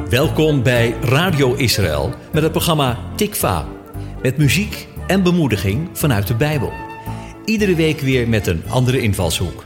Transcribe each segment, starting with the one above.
Welkom bij Radio Israël met het programma Tikva. Met muziek en bemoediging vanuit de Bijbel. Iedere week weer met een andere invalshoek.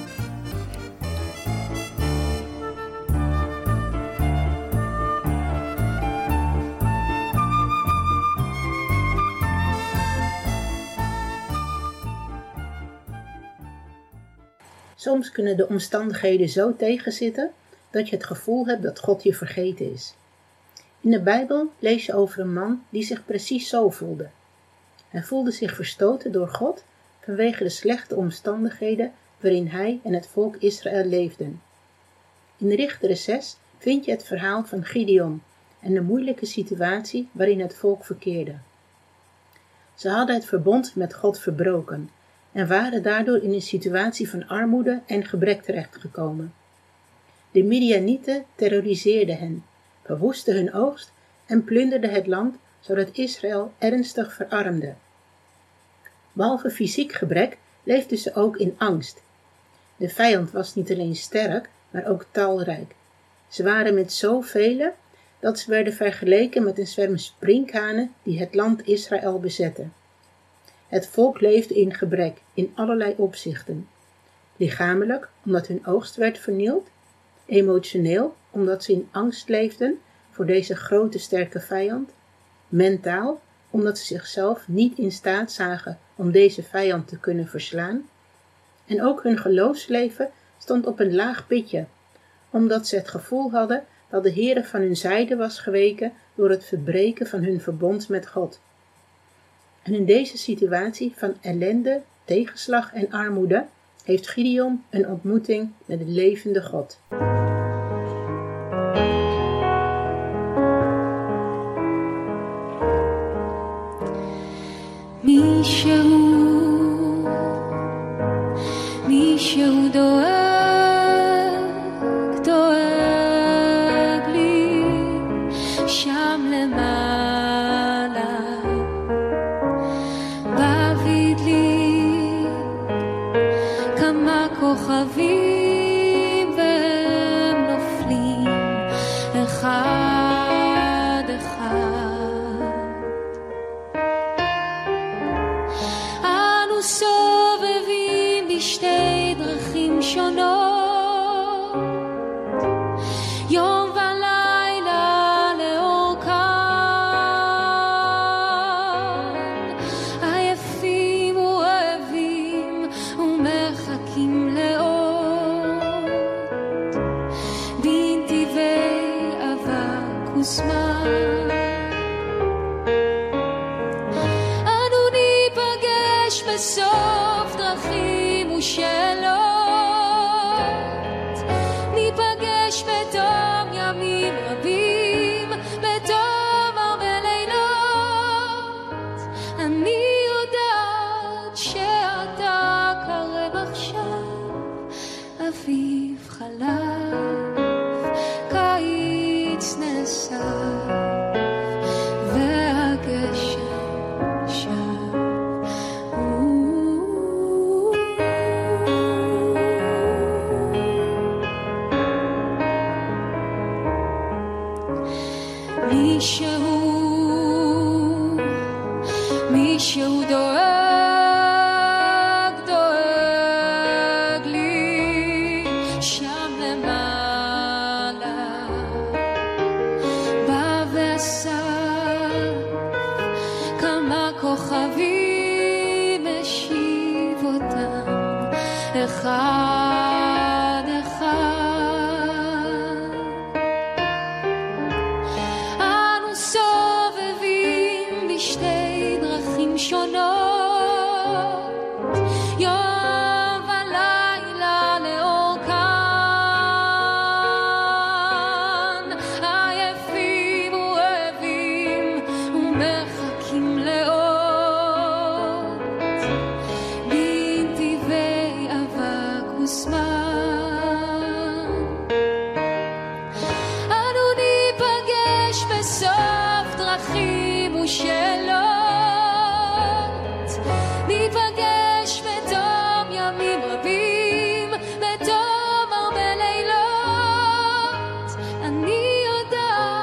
Soms kunnen de omstandigheden zo tegenzitten dat je het gevoel hebt dat God je vergeten is. In de Bijbel lees je over een man die zich precies zo voelde. Hij voelde zich verstoten door God vanwege de slechte omstandigheden waarin hij en het volk Israël leefden. In Richteren 6 vind je het verhaal van Gideon en de moeilijke situatie waarin het volk verkeerde. Ze hadden het verbond met God verbroken en waren daardoor in een situatie van armoede en gebrek terechtgekomen. De Midianieten terroriseerden hen, verwoestten hun oogst en plunderden het land, zodat Israël ernstig verarmde. Behalve fysiek gebrek leefden ze ook in angst. De vijand was niet alleen sterk, maar ook talrijk. Ze waren met zoveel dat ze werden vergeleken met een zwerm sprinkhanen die het land Israël bezetten. Het volk leefde in gebrek in allerlei opzichten. Lichamelijk, omdat hun oogst werd vernield. Emotioneel, omdat ze in angst leefden voor deze grote sterke vijand. Mentaal, omdat ze zichzelf niet in staat zagen om deze vijand te kunnen verslaan. En ook hun geloofsleven stond op een laag pitje, omdat ze het gevoel hadden dat de Heere van hun zijde was geweken door het verbreken van hun verbond met God. En in deze situatie van ellende, tegenslag en armoede heeft Gideon een ontmoeting met de levende God. מישהו דואג לי שם למעלה, מביא לי כמה כוכבים והם נופלים אחד אחד. אנו סובבים בשתי דרכים שונות, יום ולילה לאורכן, עייפים ורעבים ומחכים לאות, בנתיבי אבק וזמן. אנו ניפגש בסוף דרכים ושאלות, ניפגש בתום ימים רבים, בתום הרבה לילות. אני יודעת שאתה קרב עכשיו, אביב חלף, קיץ נאסף, והגשם שב. מישהו דואג לי שם למעלה, בא ואסף כמה כוכבים, השיב אותם אחד אחד. אנו סובבים בשתי דרכים שונות, יום ולילה לאורכן, עייפים ורעבים ומחכים לאות, בנתיבי אבק וזמן. אנו ניפגש בסוף דרכים ושאלות, ניפגש בתום ימים רבים, בתום הרבה לילות. אני יודעת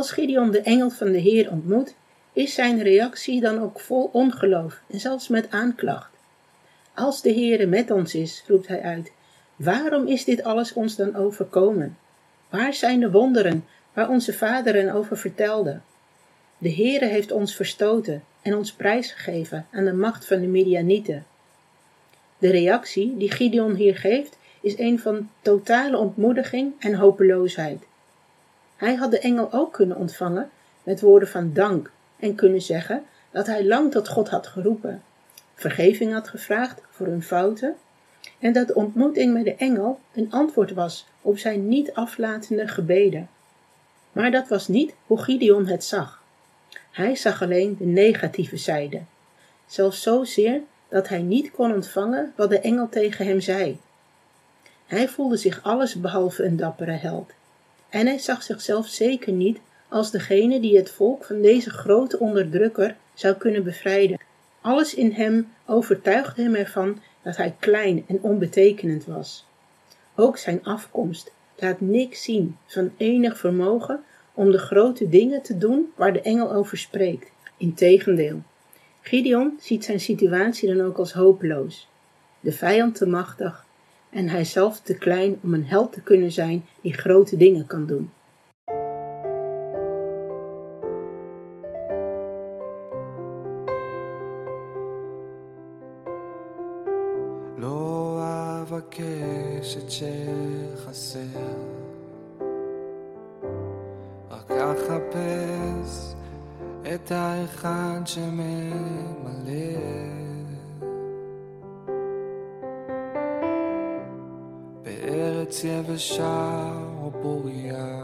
Als Gideon de engel van de Heer ontmoet, is zijn reactie dan ook vol ongeloof en zelfs met aanklacht. Als de Heere met ons is, roept hij uit, waarom is dit alles ons dan overkomen? Waar zijn de wonderen waar onze vaderen over vertelden? De Heere heeft ons verstoten en ons prijsgegeven aan de macht van de Midianieten. De reactie die Gideon hier geeft is een van totale ontmoediging en hopeloosheid. Hij had de engel ook kunnen ontvangen met woorden van dank en kunnen zeggen dat hij lang tot God had geroepen, vergeving had gevraagd voor hun fouten en dat de ontmoeting met de engel een antwoord was op zijn niet aflatende gebeden. Maar dat was niet hoe Gideon het zag. Hij zag alleen de negatieve zijde, zelfs zozeer dat hij niet kon ontvangen wat de engel tegen hem zei. Hij voelde zich alles behalve een dappere held. En hij zag zichzelf zeker niet als degene die het volk van deze grote onderdrukker zou kunnen bevrijden. Alles in hem overtuigde hem ervan dat hij klein en onbetekenend was. Ook zijn afkomst laat niks zien van enig vermogen om de grote dingen te doen waar de engel over spreekt. Integendeel, Gideon ziet zijn situatie dan ook als hopeloos, de vijand te machtig en hij zelf te klein om een held te kunnen zijn die grote dingen kan doen. לא אבקש את שחסר, רק אחפש את האחד שממלא. בארץ יבשה או פוריה,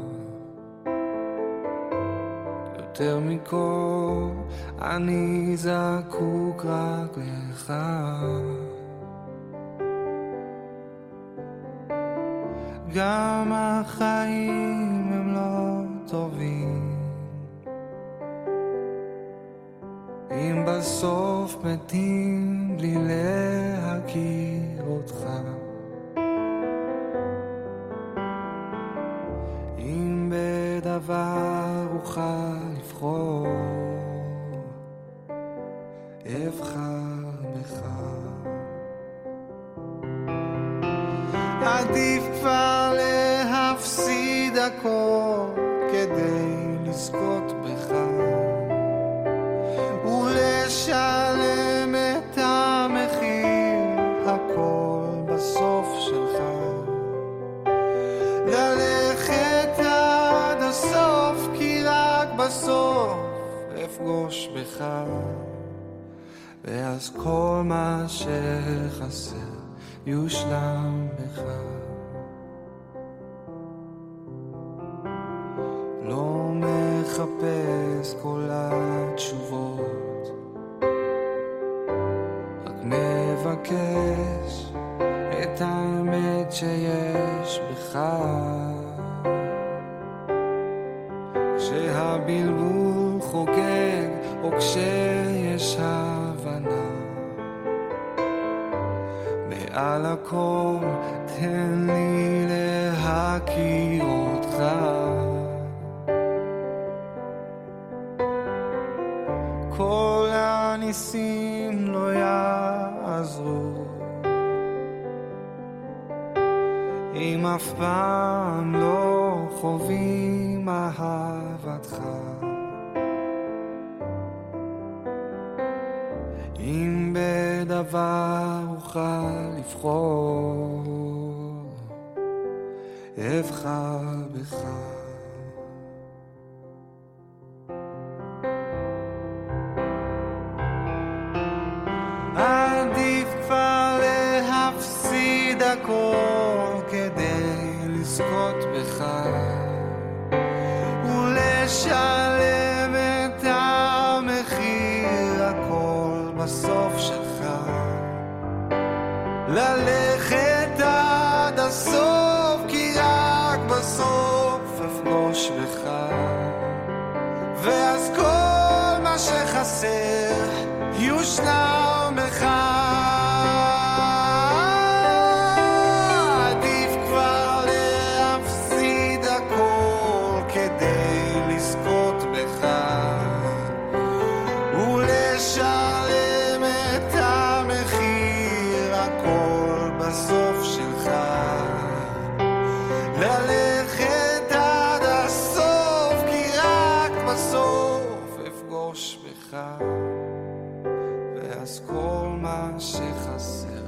יותר מכל אני זקוק רק לך. גם החיים הם לא טובים, אם בסוף מתים בלי להכיר אותך. אם בדבר אוכל לבחור, אבחר בך. עדיף כבר להפסיד הכל כדי לזכות בך ולשלם את המחיר, הכל בסוף שלך. ללכת עד הסוף כי רק בסוף אפגוש בך, ואז כל מה שחסר יושלם בך. לא מחפש כל התשובות, רק מבקש את האמת שיש בך. כשהבלבול חוגג או כשיש הבנה, על הכל תן לי להכיר אותך. כל הניסים לא יעזרו אם אף פעם לא חווים אהבתך. אם בדבר אוכל לבחור, אבחר בך. עדיף כבר להפסיד הכל כדי לזכות בך ולשלם את המחיר, הכל בסוף שלך. ללכת עד הסוף כי רק בסוף אפגוש בך, ואז כל מה שחסר יושלם בך. עדיף כבר להפסיד הכל כדי אז כל מה שחסר.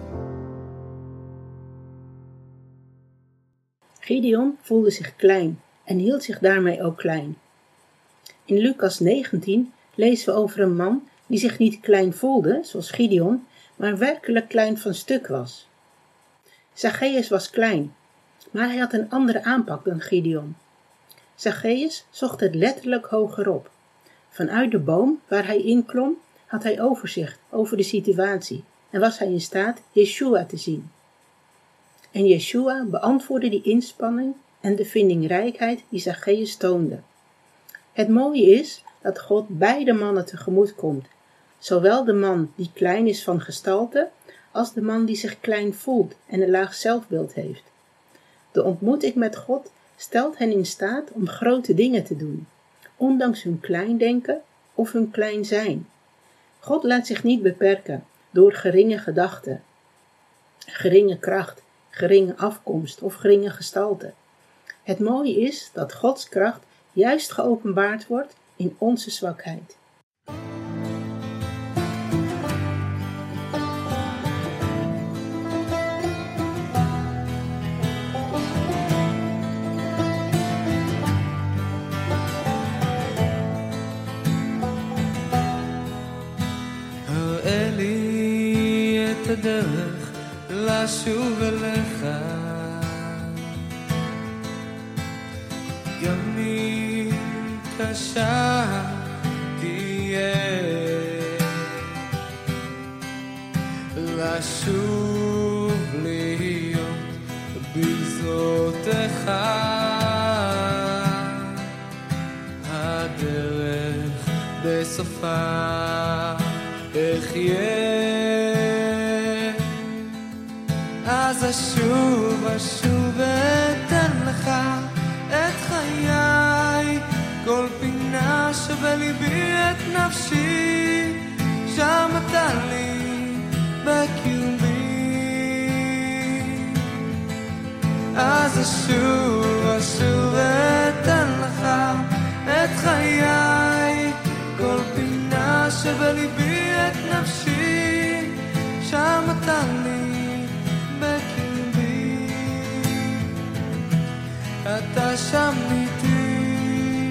Gideon voelde zich klein en hield zich daarmee ook klein. In Lucas 19 lezen we over een man die zich niet klein voelde, zoals Gideon, maar werkelijk klein van stuk was. Zacchaeus was klein, maar hij had een andere aanpak dan Gideon. Zacchaeus zocht het letterlijk hogerop. Vanuit de boom waar hij inklom, had hij overzicht over de situatie en was hij in staat Yeshua te zien. En Yeshua beantwoordde die inspanning en de vindingrijkheid die Zacchaeus toonde. Het mooie is dat God beide mannen tegemoet komt, zowel de man die klein is van gestalte, als de man die zich klein voelt en een laag zelfbeeld heeft. De ontmoeting met God stelt hen in staat om grote dingen te doen, ondanks hun klein denken of hun klein zijn. God laat zich niet beperken door geringe gedachten, geringe kracht, geringe afkomst of geringe gestalte. Het mooie is dat Gods kracht juist geopenbaard wordt in onze zwakheid. הראה לי את הדרך לשוב אליך, גם אם קשה תהיה, לשוב להיות בגזרותיך, הדרך בסופה אחיה. אז אשוב אתן לך את חיי, כל פינה שבליבי את נפשי, שם אתה לי בקרבי. אז אשוב אתן לך את חיי, כל פינה שבליבי את נפשי, שם אתה לי בקרבי. אתה שם איתי,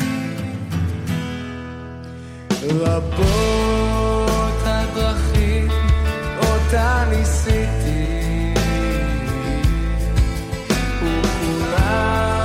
רבות הדרכים אותה ניסיתי, וכולם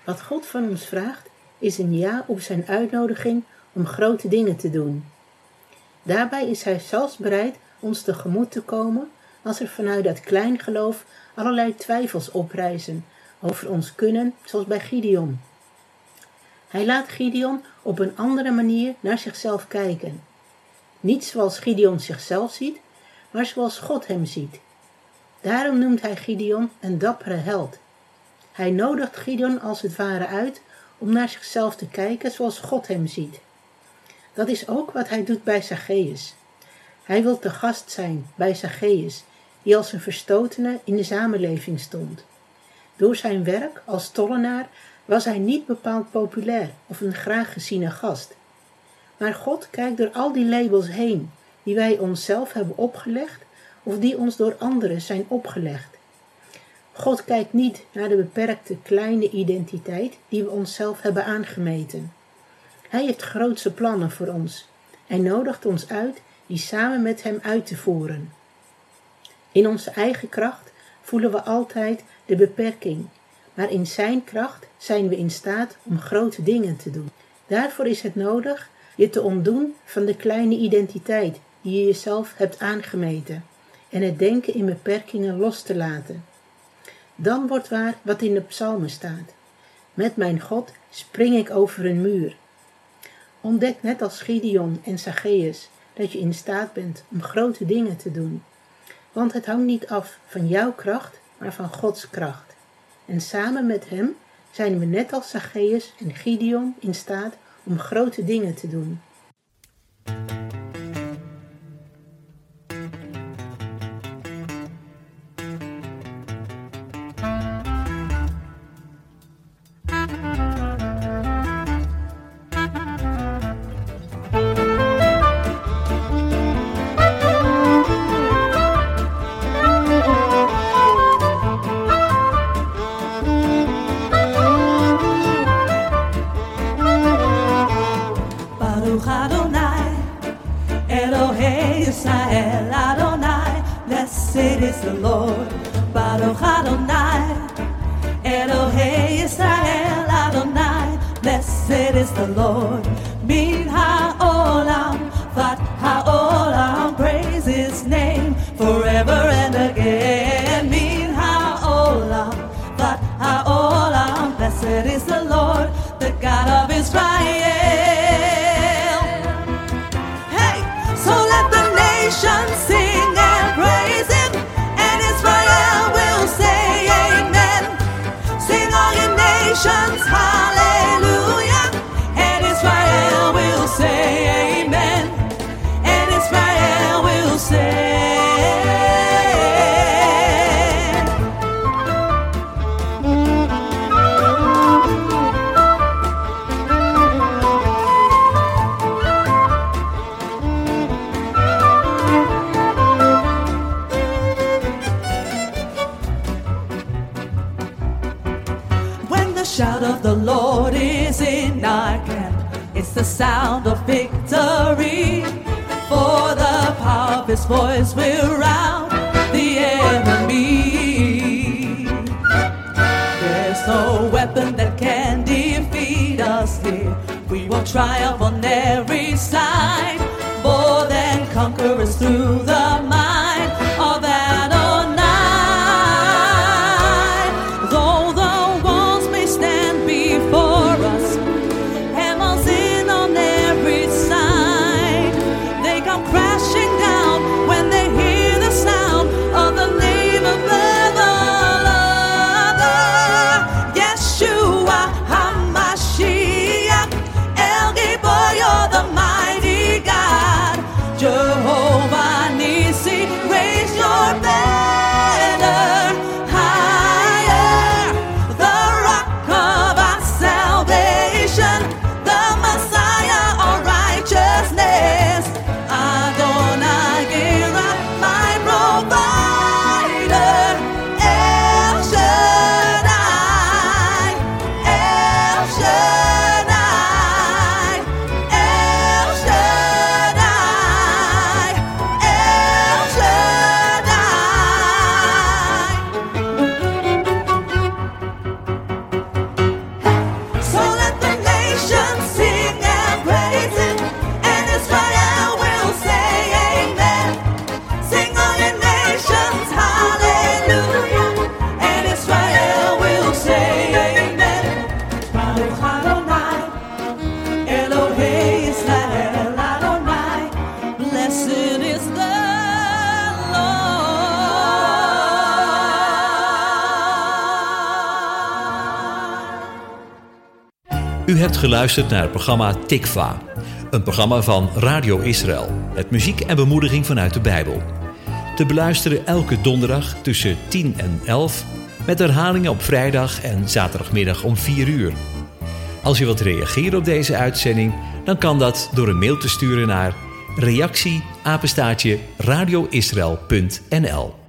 Wat God van ons vraagt, is een ja op zijn uitnodiging om grote dingen te doen. Daarbij is hij zelfs bereid ons tegemoet te komen als er vanuit dat klein geloof allerlei twijfels oprijzen over ons kunnen, zoals bij Gideon. Hij laat Gideon op een andere manier naar zichzelf kijken. Niet zoals Gideon zichzelf ziet, maar zoals God hem ziet. Daarom noemt hij Gideon een dappere held. Hij nodigt Gideon als het ware uit om naar zichzelf te kijken zoals God hem ziet. Dat is ook wat hij doet bij Zacchaeus. Hij wil te gast zijn bij Zacchaeus, die als een verstotene in de samenleving stond. Door zijn werk als tollenaar was hij niet bepaald populair of een graag geziene gast. Maar God kijkt door al die labels heen, die wij onszelf hebben opgelegd of die ons door anderen zijn opgelegd. God kijkt niet naar de beperkte kleine identiteit die we onszelf hebben aangemeten. Hij heeft grootse plannen voor ons en nodigt ons uit die samen met hem uit te voeren. In onze eigen kracht voelen we altijd de beperking, maar in zijn kracht zijn we in staat om grote dingen te doen. Daarvoor is het nodig je te ontdoen van de kleine identiteit die je jezelf hebt aangemeten en het denken in beperkingen los te laten. Dan wordt waar wat in de psalmen staat. Met mijn God spring ik over een muur. Ontdek net als Gideon en Zacchaeus dat je in staat bent om grote dingen te doen. Want het hangt niet af van jouw kracht, maar van Gods kracht. En samen met hem zijn we net als Zacchaeus en Gideon in staat om grote dingen te doen. Baruch Adonai, Elohei Yisrael Adonai, blessed is the Lord. Baruch Adonai, Elohei Yisrael Adonai, blessed is the Lord. Min ha'olam, vat ha'olam, praise his name forever and again. Min ha'olam, vat ha'olam, blessed is the Lord, the God of Israel. Sing and praise him, and Israel will say amen. Sing all you nations, hallelujah, and Israel will say amen, and Israel will say. The shout of the Lord is in our camp. It's the sound of victory. For the power of his voice will rout the enemy. There's no weapon that can defeat us here. We will triumph on every side. More than conquerors through the might of Adonai. Though the walls may stand before us, hammers in on every side, they come crashing down when they hear the sound of the name of the Lord. Yeshua HaMashiach, El Gibor, you're the mighty God, Jehovah Nissi. U hebt geluisterd naar het programma Tikva, een programma van Radio Israël, met muziek en bemoediging vanuit de Bijbel. Te beluisteren elke donderdag tussen 10 en 11, met herhalingen op vrijdag en zaterdagmiddag om 4 uur. Als je wilt reageren op deze uitzending, dan kan dat door een mail te sturen naar reactie@radioisrael.nl.